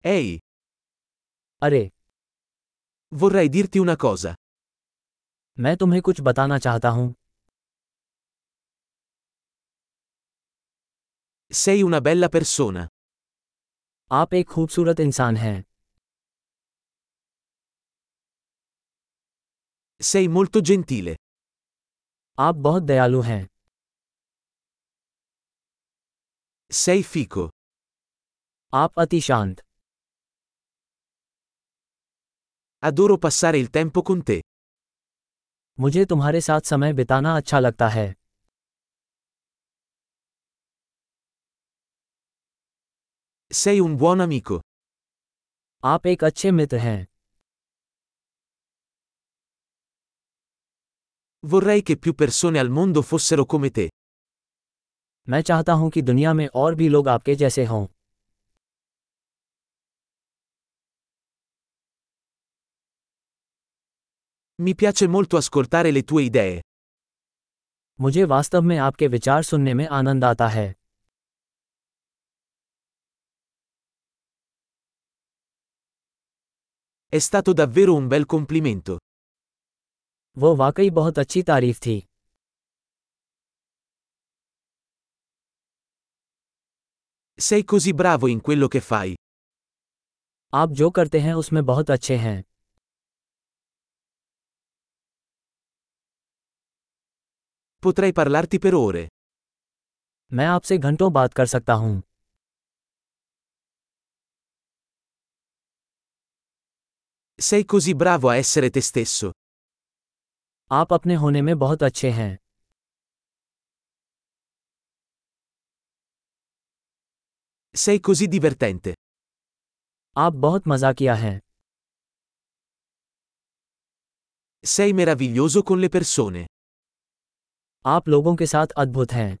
Ehi, अरे, vorrei dirti una cosa. मैं तुम्हें कुछ बताना चाहता हूँ। Sei una bella persona. आप एक खूबसूरत इंसान हैं। Sei molto gentile. आप बहुत दयालु हैं। Sei fico. आप अति शांत। Adoro passare il tempo con te. मुझे तुम्हारे साथ समय बिताना अच्छा लगता है। Sei un buon amico. आप एक अच्छे मित्र हैं। Vorrei che più persone al mondo fossero come te. मैं चाहता हूँ कि दुनिया में और भी लोग आपके जैसे हों। Mi piace molto ascoltare le tue idee. मुझे वास्तव में आपके विचार सुनने में आनंद आता है। È stato davvero un bel complimento. वो वाकई बहुत अच्छी तारीफ थी। Sei così bravo in quello che fai. आप जो करते हैं उसमें बहुत अच्छे हैं। Potrei parlarti per ore. मैं आपसे घंटों बात कर सकता हूँ। Sei così bravo a essere te stesso. आप अपने होने में बहुत अच्छे हैं। Sei così divertente. आप बहुत मजाकिया हैं। Sei meraviglioso con le persone. आप लोगों के साथ अद्भुत हैं।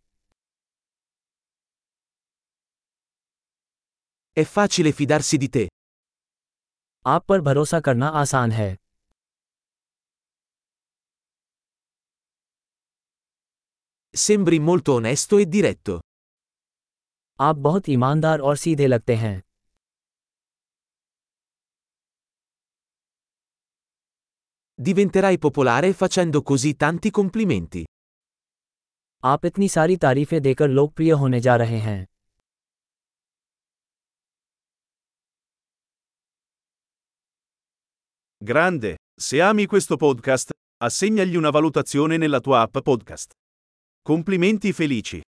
È facile fidarsi di te. आप पर भरोसा करना आसान है। Sembri molto onesto e diretto. आप बहुत ईमानदार और सीधे लगते हैं। Diventerai popolare facendo così tanti complimenti. आप इतनी सारी तारीफें देकर लोकप्रिय होने जा रहे हैं। Grande, se ami questo podcast, assegnagli una valutazione nella tua app podcast. Complimenti felici.